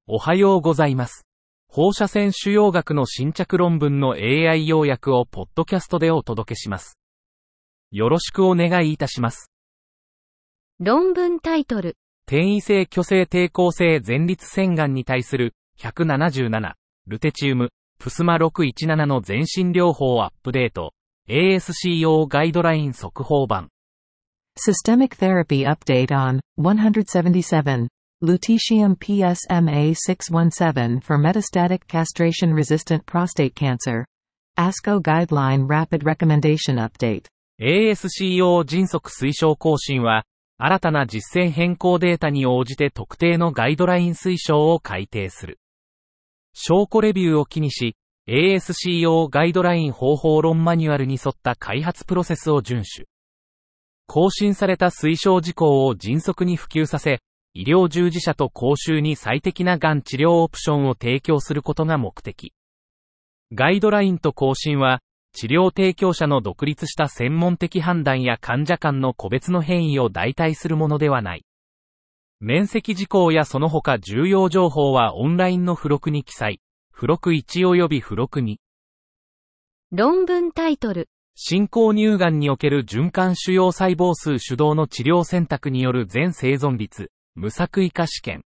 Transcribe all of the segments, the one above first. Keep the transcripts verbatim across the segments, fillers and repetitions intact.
おはようございます。放射線腫瘍学の新着論文の エーアイ 要約をポッドキャストでお届けします。よろしくお願いいたします。 論文タイトル。 転移性巨性抵抗性前立腺がんに対するひゃくななじゅうなな、ルテチウム、プスマろくいちななの全身療法アップデート、エーエスシーオー ガイドライン速報版。 Systemic Therapy Update on one seventy-seven, Lutetium P S M A six seventeen for Metastatic Castration-Resistant Prostate Cancer.エーエスシーオー Guideline Rapid Recommendation Update。 エーエスシーオー 迅速推奨更新は、新たな実践変更データに応じて特定のガイドライン推奨を改定する。証拠レビューを機にし、エーエスシーオー ガイドライン方法論マニュアルに沿った開発プロセスを遵守。更新された推奨事項を迅速に普及させ、医療従事者と公衆に最適ながん治療オプションを提供することが目的。ガイドラインと更新は、治療提供者の独立した専門的判断や患者間の個別の変異を代替するものではない。免責事項やその他重要情報はオンラインの付録に記載。付録いち及び付録に。 論文タイトル。 進行乳がんにおける循環腫瘍細胞数主導の治療選択による全生存率、無作為化試験。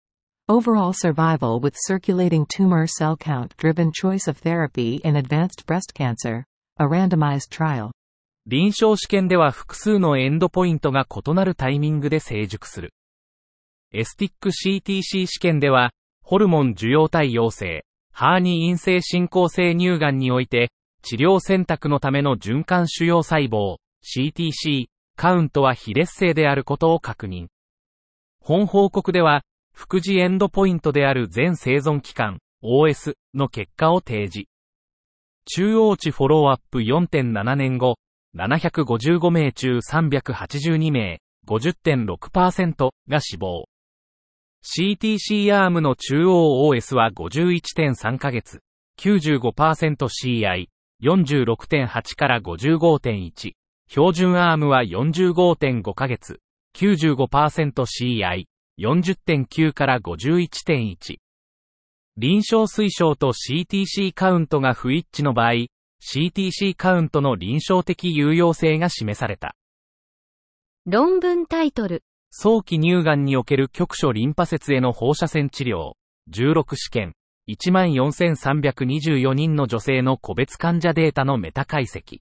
Overall survival with circulating tumor cell count driven choice of therapy in advanced breast cancer, a randomized trial。 臨床試験では複数のエンドポイントが異なるタイミングで成熟する。エスティック シーティーシー 試験では、ホルモン受容体陽性、ハーニ陰性進行性乳がんにおいて、治療選択のための循環腫瘍細胞、シーティーシー、カウントは非劣勢であることを確認。本報告では、副次エンドポイントである全生存期間、オーエス の結果を提示。中央値フォローアップ よんてんなな 年後、ななひゃくごじゅうごめい中さんびゃくはちじゅうにめい、ごじゅってんろくパーセント が死亡。シーティーシー アームの中央 オーエス は ごじゅういってんさん ヶ月、きゅうじゅうごパーセント シーアイ、よんじゅうろくてんはち から ごじゅうごてんいち、標準アームは よんじゅうごてんご ヶ月、きゅうじゅうごパーセント シーアイ、よんじゅってんきゅう から ごじゅういってんいち。臨床推奨と シーティーシー カウントが不一致の場合、シーティーシー カウントの臨床的有用性が示された。 論文タイトル。 早期乳がんにおける局所リンパ節への放射線治療、じゅうろく試験、いちまんよんせんさんびゃくにじゅうよにんの女性の個別患者データのメタ解析。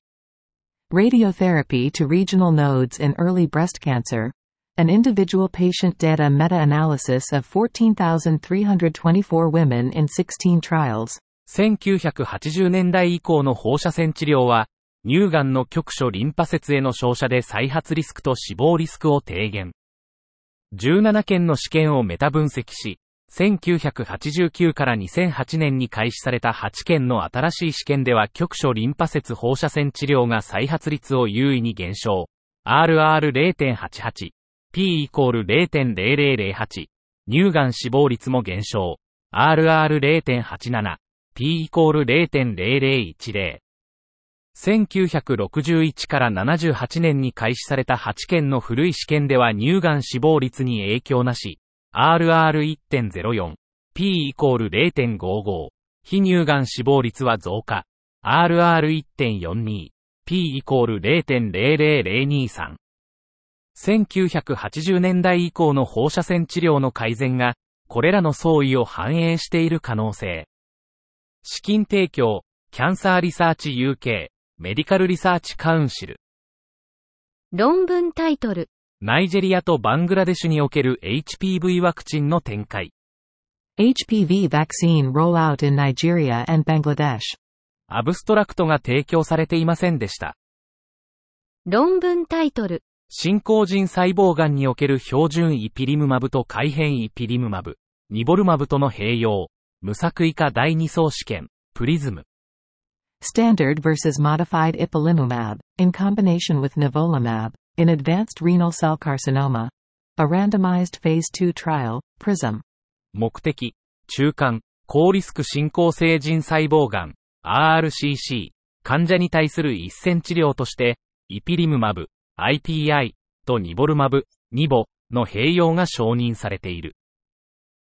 Radiotherapy to regional nodes in early breast cancer.An individual patient data meta-analysis of fourteen thousand three hundred twenty-four women in sixteen trials。 せんきゅうひゃくはちじゅうねんだい以降の放射線治療は、乳がんの局所リンパ節への照射で再発リスクと死亡リスクを低減。じゅうななけんの試験をメタ分析し、せんきゅうひゃくはちじゅうきゅうからにせんはちねんに開始されたはちけんの新しい試験では局所リンパ節放射線治療が再発率を優位に減少。アールアールれいてんはちはち。P イコール れいてんぜろぜろぜろはち。乳がん死亡率も減少。アールアールれいてんはちなな。P イコール れいてんぜろぜろいちぜろ。せんきゅうひゃくろくじゅういちからななじゅうはちねんに開始されたはちけんの古い試験では乳がん死亡率に影響なし。アールアールいってんぜろよん。P イコール れいてんごご。非乳がん死亡率は増加。アールアールいってんよんに。P イコール れいてんぜろぜろぜろにさん。せんきゅうひゃくはちじゅうねんだい以降の放射線治療の改善が、これらの相違を反映している可能性。資金提供、キャンサーリサーチ ユーケー、メディカルリサーチカウンシル。 論文タイトル。 ナイジェリアとバングラデシュにおける エイチピーブイ ワクチンの展開。 エイチピーブイ vaccine rollout in Nigeria and Bangladesh。 アブストラクトが提供されていませんでした。 論文タイトル。 進行腎細胞がんにおける標準イピリムマブと改変イピリムマブ、ニボルマブとの併用、無作為化だいに層試験、プリズム。 Standard versus modified ipilimumab, in combination with nivolumab, in advanced renal cell carcinoma. A randomized phase two trial,プリズム。 目的、中間、高リスク進行性腎細胞がん、アールシーシー、患者に対する一線治療として、イピリムマブ、アイピーアイ とニボルマブ、ニボの併用が承認されている。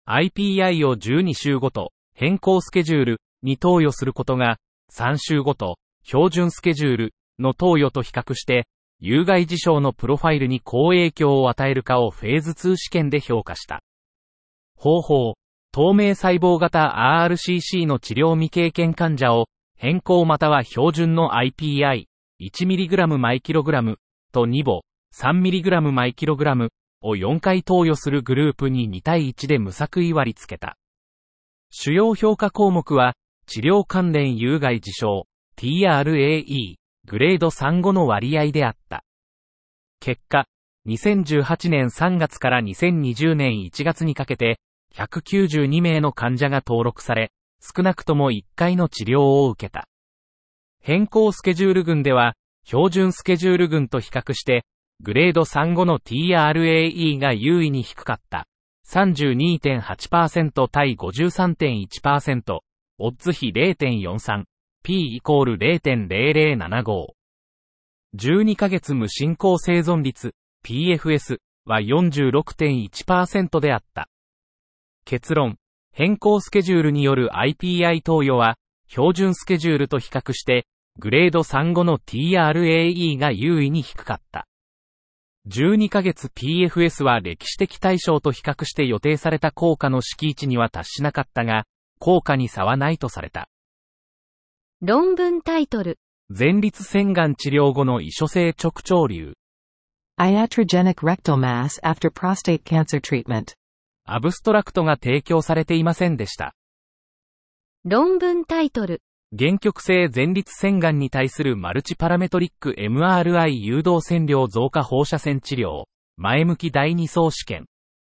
アイピーアイ をじゅうに週ごと、変更スケジュールに投与することが、さん週ごと、標準スケジュールの投与と比較して、有害事象のプロファイルに好影響を与えるかをフェーズツー試験で評価した。方法、透明細胞型 アールシーシー の治療未経験患者を、変更または標準の アイピーアイ、いちミリグラム 毎キログラムとにぼ、さんミリグラム 毎キログラムをよんかい投与するグループにに対いちで無作為割り付けた。主要評価項目は、治療関連有害事象、ティーアールエーイー、グレードさん、ごの割合であった。結果、にせんじゅうはちねんさんがつからにせんにじゅうねんいちがつにかけて、ひゃくきゅうじゅうにめいの患者が登録され、少なくともいっかいの治療を受けた。変更スケジュール群では、標準スケジュール群と比較して、グレードさん、ごの ティーアールエーイー が優位に低かった。さんじゅうにてんはちパーセント 対 ごじゅうさんてんいちパーセント、オッズ比 れいてんよんさん、P イコール れいてんぜろぜろななご。じゅうにかげつ無進行生存率、ピーエフエス は よんじゅうろくてんいちパーセント であった。結論、変更スケジュールによる アイピーアイ 投与は、標準スケジュールと比較して、グレードさん、ごの ティーアールエーイー が優位に低かった。じゅうにかげつ ピーエフエス は歴史的対象と比較して予定された効果の敷地には達しなかったが、効果に差はないとされた。 論文タイトル。 前立腺がん治療後の異所性直腸瘤。 Iatrogenic rectal mass after prostate cancer treatment。 アブストラクトが提供されていませんでした。 論文タイトル。 限局性前立腺がんに対するマルチパラメトリック エムアールアイ 誘導線量増加放射線治療。前向きだいに層試験。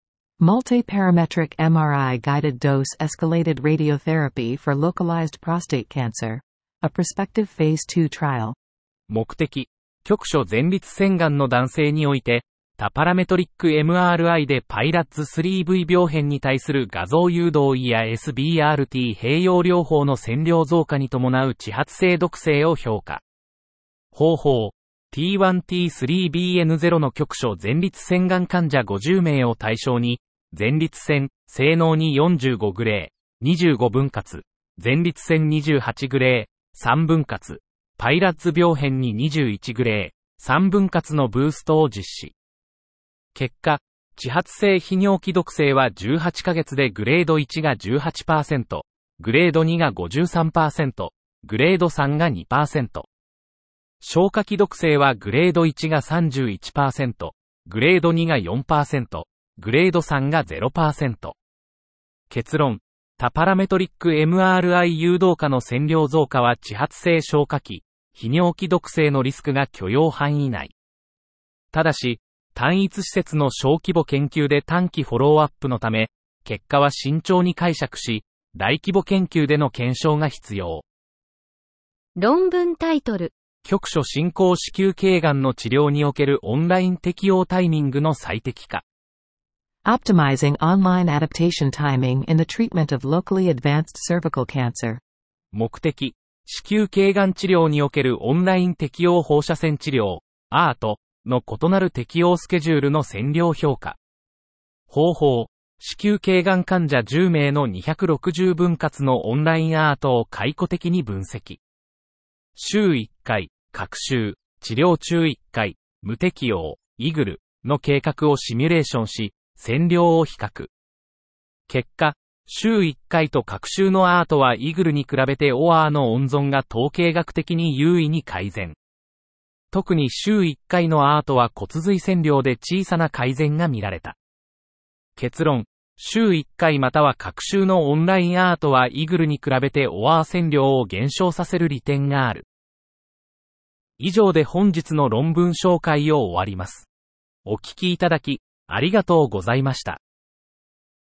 Multiparametric エムアールアイ guided dose escalated radiotherapy for localized prostate cancer. A prospective phase two trial. 目的、局所前立腺がんの男性において、多パラメトリック エムアールアイ でパイラッツ スリーブイ 病変に対する画像誘導医や エスビーアールティー 併用療法の線量増加に伴う揮発性毒性を評価。方法、ティーワンティースリービーエヌゼロ の局所前立腺がん患者ごじゅうめいを対象に、前立腺、性能によんじゅうごグレー、にじゅうご分割、前立腺にじゅうはちグレー、さん分割、パイラッツ病変ににじゅういちグレー、さん分割のブーストを実施。結果、揮発性泌尿器毒性はじゅうはちかげつでグレードいちが じゅうはちパーセント、グレードにが ごじゅうさんパーセント、グレードさんが にパーセント。消化器毒性はグレードいちが さんじゅういちパーセント、グレードにが よんパーセント、グレードさんが ゼロパーセント。結論、多パラメトリック エムアールアイ 誘導下の線量増加は揮発性消化器、泌尿器毒性のリスクが許容範囲内。ただし、単一施設の小規模研究で短期フォローアップのため、結果は慎重に解釈し、大規模研究での検証が必要。 論文タイトル。 局所進行子宮頸がんの治療におけるオンライン適用タイミングの最適化。 Optimizing online adaptation timing in the treatment of locally advanced cervical cancer. 目的、子宮頸がん治療におけるオンライン適用放射線治療、アート。の異なる適用スケジュールの線量評価。方法、子宮頸がん患者じゅうめいのにひゃくろくじゅう分割のオンラインアートを解雇的に分析。週いっかい、各週、治療中いっかい、無適用、イグルの計画をシミュレーションし、線量を比較。結果、週いっかいと各週のアートはイグルに比べてオアーの温存が統計学的に優位に改善。特に週いっかいのアートは骨髄線量で小さな改善が見られた。結論、週いっかいまたは各週のオンラインアートはイグルに比べてオアー線量を減少させる利点がある。以上で本日の論文紹介を終わります。お聞きいただき、ありがとうございました。